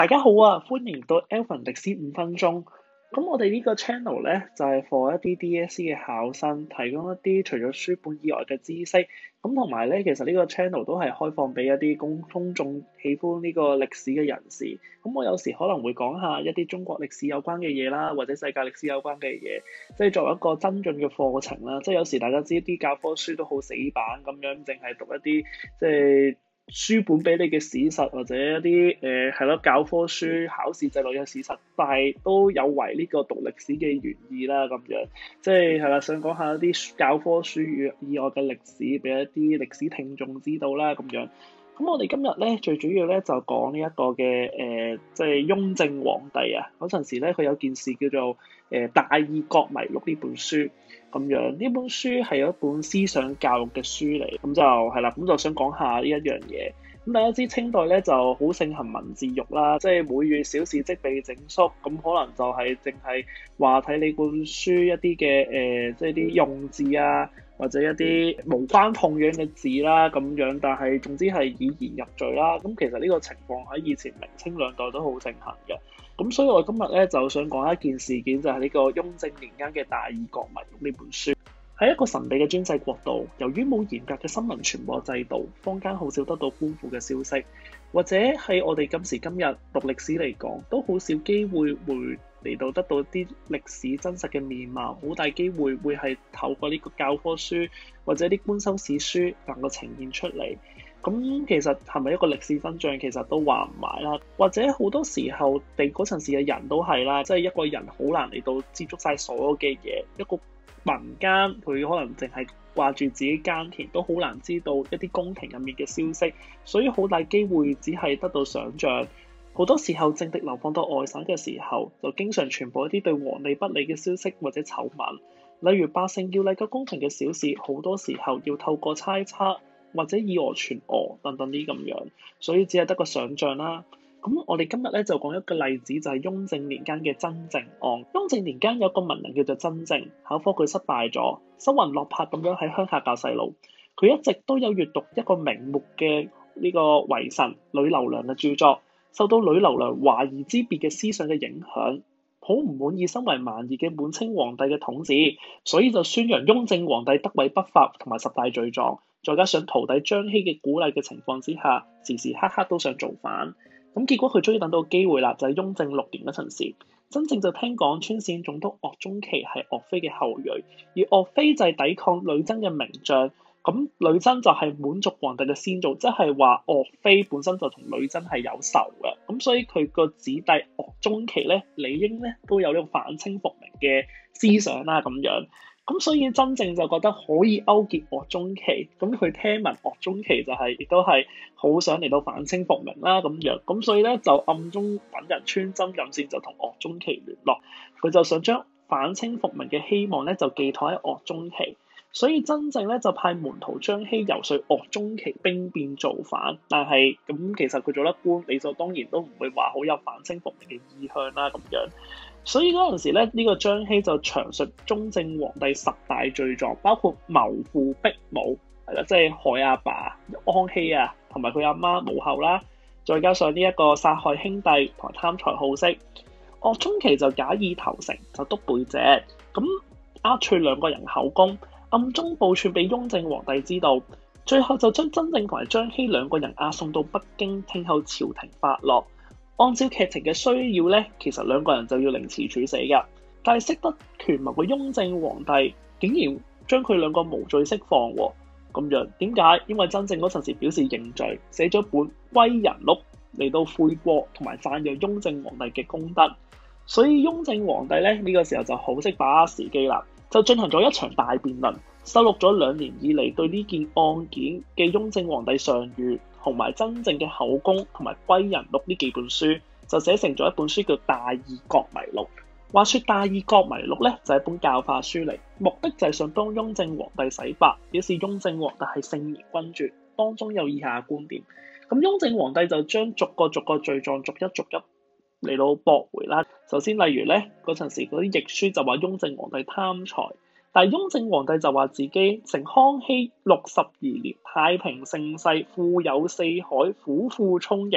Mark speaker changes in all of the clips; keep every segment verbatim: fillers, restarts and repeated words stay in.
Speaker 1: 大家好啊，歡迎到 Alvin 歷史五分鐘。咁我哋呢個 channel 咧就係 for 一啲 D.S.C 嘅考生，提供一啲除咗書本以外嘅知識。咁同埋咧，其實呢個 channel 都係開放俾一啲公公眾喜歡呢個歷史嘅人士。咁我有時可能會講下一啲中國歷史有關嘅嘢啦，或者世界歷史有關嘅嘢，即係作為一個增進嘅課程啦。即係有時大家知啲教科書都好死板咁樣，淨係讀一啲即係書本俾你嘅史實，或者一啲誒係咯教科書考試制度嘅史實，但係都有違呢個讀歷史嘅原意啦咁樣。即係係啦，想講下一啲教科書以外嘅歷史，俾一啲歷史聽眾知道啦咁樣。咁我哋今日咧最主要咧就講呢一個嘅誒、呃，即係雍正皇帝啊嗰陣時咧，佢有件事叫做誒、呃《大義國迷錄》呢本書咁樣。呢本書係一本思想教育嘅書嚟，咁就係啦，咁就想講下呢一樣嘢。咁大家知清代咧就好盛行文字獄啦，即係每月小事即被整肅，咁可能就係淨係話睇你本書一啲嘅誒，即係啲用字啊，或者一啲無關痛癢嘅字啦咁樣，但係總之係以言入罪啦。咁其實呢個情況喺以前明清兩代都好盛行嘅。咁所以我今日咧就想講一件事件，就係呢個雍正年間嘅《大義國迷錄》呢本書。喺一個神秘嘅專制國度，由於冇嚴格嘅新聞傳播制度，坊間好少得到官府嘅消息，或者喺我哋今時今日讀歷史嚟講，都好少機會會嚟到得到啲歷史真實嘅面貌，好大機會會係透過呢個教科書或者啲官修史書能夠呈現出嚟。咁其實係咪一個歷史真相，其實都話唔埋啦。或者好多時候，地嗰陣時嘅人都係啦，即係一個人好難嚟到接觸晒所有嘅嘢，一個民間佢可能淨係掛住自己耕田，都好難知道一啲宮廷入面嘅消息，所以好大機會只係得到想像。好多時候政敵流放到外省嘅時候，就經常傳播一啲對皇帝不利嘅消息或者醜聞，例如百姓要嚟個宮廷嘅小事，好多時候要透過猜測或者以訛傳訛等等啲咁樣，所以只係得個想像啦。咁我哋今日咧就講一個例子，就係雍正年間嘅真正案。雍正年間有個文人叫做真正，考科佢失敗咗，失魂落魄咁樣喺鄉下教細路。佢一直都有閱讀一個名目嘅呢個遺臣呂留良嘅著作，受到呂留良華夷之別嘅思想嘅影響，好唔滿意身為蠻夷嘅滿清皇帝嘅統治，所以就宣揚雍正皇帝得位不法同埋十大罪狀，再加上徒弟張熙嘅鼓勵嘅情況之下，時時刻刻都想造反。咁結果佢終於等到機會啦，就係、是、雍正六年嗰陣時，真正就聽講川陝總督岳鐘琪係岳飛嘅後裔，而岳飛就係抵抗呂珍嘅名將。咁呂珍就係滿族皇帝嘅先祖，即係話岳飛本身就同呂珍係有仇嘅。咁所以佢個子弟岳鐘琪咧，理應咧都有呢個反清復明嘅思想啦，咁樣。咁所以真正就覺得可以勾結岳鐘琪，咁佢聽聞岳鐘琪就係、是、亦都係好想嚟到反清復明啦咁樣，咁所以咧就暗中揾人穿針引線，就同岳鐘琪聯絡，佢就想將反清復明嘅希望咧就寄託喺岳鐘琪，所以真正咧就派門徒張熙游說岳鐘琪兵變造反，但係咁其實佢做得官，理所當然都唔會話好有反清復明嘅意向啦咁樣。所以嗰陣時咧，呢、這個張熙就詳述雍正皇帝十大罪狀，包括謀父逼母，係啦，即係害阿爸，爸安熙啊，同埋佢阿媽母后啦，再加上呢一個殺害兄弟同埋貪財好色。岳鐘琪就假意投誠，就督背脊，咁呃取兩個人口供，暗中報串俾雍正皇帝知道，最後就將真正同埋張熙兩個人押送到北京，聽候朝廷發落。按照劇情嘅需要咧，其實兩個人就要凌遲處死㗎。但係識得權謀嘅雍正皇帝竟然將佢兩個無罪釋放喎。咁樣點解？因為真正嗰陣時表示認罪，寫咗本歸仁錄嚟到悔過同埋讚揚雍正皇帝嘅功德。所以雍正皇帝咧呢、呢個時候就好識把握時機啦，就進行咗一場大辯論，收錄咗兩年以嚟對呢件案件嘅雍正皇帝上諭同埋真正嘅口供同埋歸仁錄呢幾本書，就寫成咗一本書叫《大義國迷錄》。話說《大義國迷錄》咧就係、是、一本教化書嚟，目的就係想幫雍正皇帝洗白，表示雍正皇帝係聖賢君主。當中有以下觀點。咁雍正皇帝就將逐個逐個罪狀逐一逐一嚟到駁回啦。首先例如咧嗰陣時嗰啲譯書就話雍正皇帝貪財。但係雍正皇帝就話自己成康熙六十二年，太平盛世，富有四海，府庫充盈，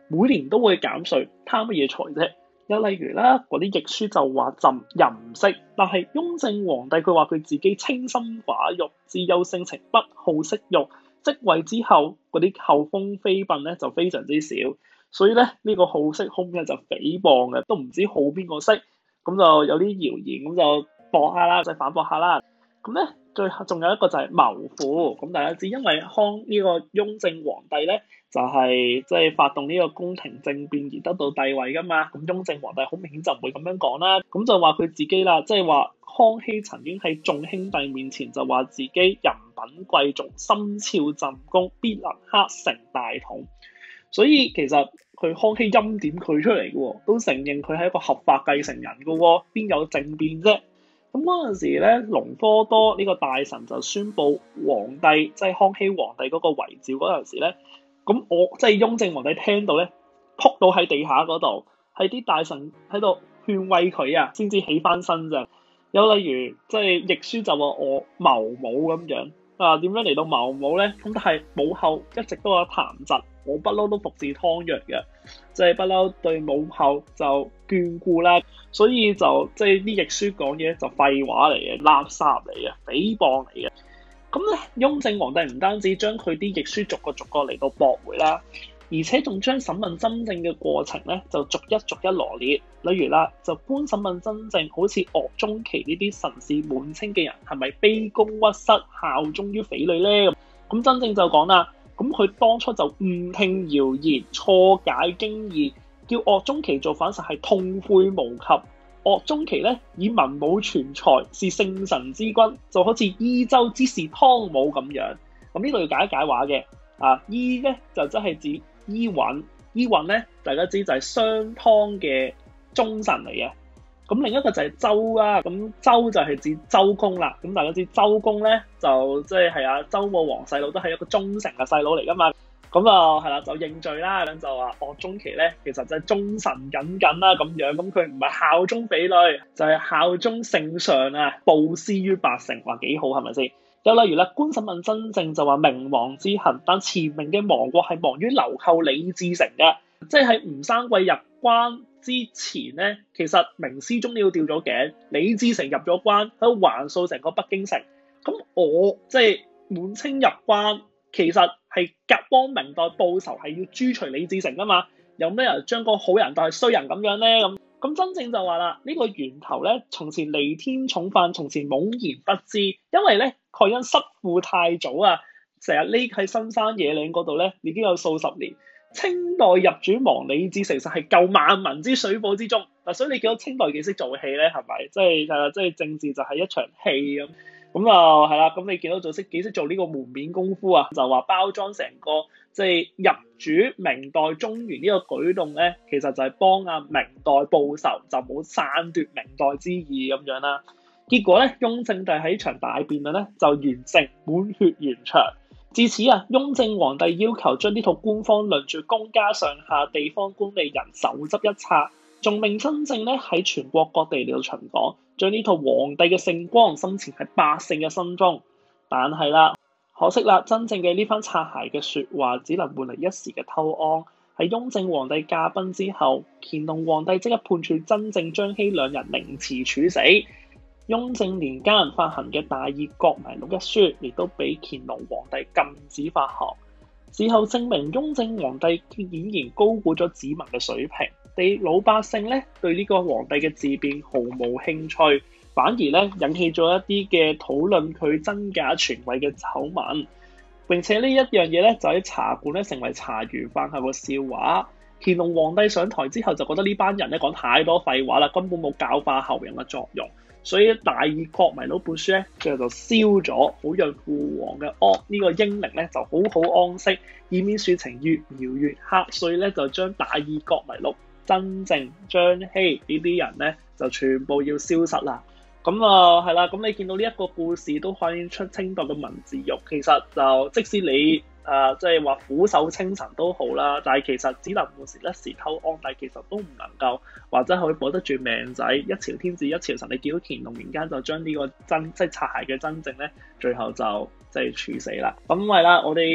Speaker 1: 每年都會減稅，貪乜嘢財啫？又例如啦，嗰啲譯書就話朕淫色，但係雍正皇帝佢話佢自己清心寡欲、自幼性情不好色欲，即位之後嗰啲後宮妃嬪咧就非常之少，所以咧呢、這個好色兇咧就誹謗嘅，都唔知好邊個色，咁就有啲謠言咁就駁下啦，就反駁下啦。咁咧最後仲有一個就係謀父，咁大家知因為康呢個雍正皇帝咧就係即係發動呢個宮廷政變而得到帝位噶嘛，咁雍正皇帝好明顯就唔會咁樣講啦，咁就話佢自己啦，即係話康熙曾經喺眾兄弟面前就話自己人品貴重，心肖朕公，必能克成大統。所以其實佢康熙欽點佢出嚟嘅喎，都承認佢係一個合法繼承人嘅喎，邊有政變啫？咁嗰陣時咧，隆科多呢個大臣就宣布皇帝即係、就是、康熙皇帝嗰個遺詔嗰陣時咧，咁我即係、就是、雍正皇帝聽到咧，撲到喺地下嗰度，係啲大臣喺度勸慰佢啊，先至起翻身咋。有例如即係譯書就話我謀母咁樣啊，點樣嚟到謀母咧？咁但係母後一直都有談疾，我不嬲都服侍湯藥嘅，即係不嬲對母後就眷顧啦，所以就即係啲譯書講嘢就廢話嚟嘅，垃圾嚟嘅，誹謗嚟嘅。咁咧，雍正皇帝唔單止將佢啲譯書逐個逐個嚟到駁回啦，而且仲將審問真正嘅過程咧就逐一逐一羅列。例如啦，就官審問真正好似岳鐘琪呢啲神事滿清嘅人係咪卑躬屈膝效忠於匪類咧？咁真正就講啦。咁佢當初就誤聽謠言、錯解經義，叫岳鐘琪做反實係痛悔無及。岳鐘琪咧以文武全才，是聖神之君，就好似伊州之士湯武咁樣。咁呢度要解一解話嘅啊，伊咧就真係指伊尹，伊尹咧大家知就係商湯嘅忠臣嚟嘅。咁另一個就係周啦，咁周就係指周公啦。咁大家知周公咧就即係係啊周武王細佬，都係一個忠誠嘅細佬嚟噶嘛。咁就係啦，就認罪啦，咁就話岳鐘琪咧其實就係忠臣耿耿啦咁樣。咁佢唔係效忠匪類，就係、是、效忠聖上啊，布施於百姓，話幾好係咪先？又例如啦，官審問真正就話明亡之恨，但前明嘅亡國係亡於流寇李自成嘅，即係喺吳三桂入關之前咧，其實明思宗都要掉咗頸，李自成入咗關喺度橫掃成個北京城。咁我即係滿清入關，其實係夾幫明代報仇，係要誅除李自成啊嘛。有咩人將個好人當係衰人咁樣咧？咁咁真正就話啦，呢、這個源頭咧，從前彌天重犯，從前懵然不知，因為咧佢因失父太早啊，成日匿喺深山野嶺嗰度咧，已經有數十年。清代入主亡李自成實係救萬民之水火之中嗱，所以你見到清代幾識做戲咧，係咪？即係誒，即係政治就係一場戲咁，咁啊係啦。咁你見到做識幾識做呢個門面功夫啊？就話包裝成個即係入主明代中原呢個舉動咧，其實就係幫阿明代報仇，就冇篡奪明代之意咁樣啦。結果咧，雍正帝喺場大辯論咧就完成滿血圓場。自此啊，雍正皇帝要求將呢套官方論著公家上下地方官吏人手執一冊，仲命真正咧喺全國各地嚟到巡講，將呢套皇帝嘅聖光深潛喺百姓嘅心中。但係啦，可惜啦，真正嘅呢番擦鞋嘅説話，只能換嚟一時嘅偷安。喺雍正皇帝駕崩之後，乾隆皇帝即刻判處真正張熙兩人凌遲處死。雍正年間發行嘅《大義國迷錄》一書，亦都俾乾隆皇帝禁止發行。事後證明，雍正皇帝顯然高估咗子民嘅水平，地老百姓咧對呢個皇帝嘅自辯毫無興趣，反而咧引起咗一啲嘅討論佢真假傳位嘅醜聞。並且呢一樣嘢咧就喺茶館咧成為茶餘飯後嘅笑話。乾隆皇帝上台之後就覺得呢班人咧講太多廢話啦，根本冇教化後人嘅作用。所以《大義國迷錄》本書咧，最後就燒咗，好讓父皇嘅安呢個英靈咧就好好安息，以免事情越描越黑。所以咧就將《大義國迷錄》真正張熙呢啲人咧就全部要消失啦。咁啊係啦，咁你見到呢一個故事都反映出清代嘅文字獄，其實就即使你誒即係話俯首稱臣都好啦，但係其實只能換時一時偷安，但係其實都唔能夠或者可以保得住命仔。一朝天子一朝臣，你見到乾隆年間就將呢個真即係擦鞋嘅真正咧，最後就即係處死啦。咁係啦，我哋今日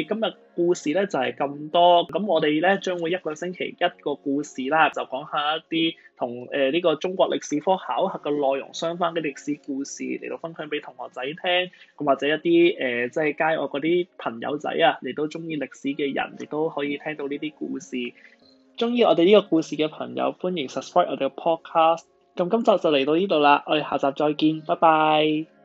Speaker 1: 故事咧就係咁多，咁我哋咧將會一個星期一個故事啦，就講下一啲同誒呢個中國歷史科考核嘅內容相關嘅歷史故事嚟到分享俾同學仔聽，咁或者一啲誒、呃、即係街外嗰啲朋友仔啊，你都中意歷史嘅人，亦都可以聽到呢啲故事。中意我哋呢個故事嘅朋友，歡迎 subscribe 我哋嘅 podcast。咁今集就嚟到呢度啦，我哋下集再見，拜拜。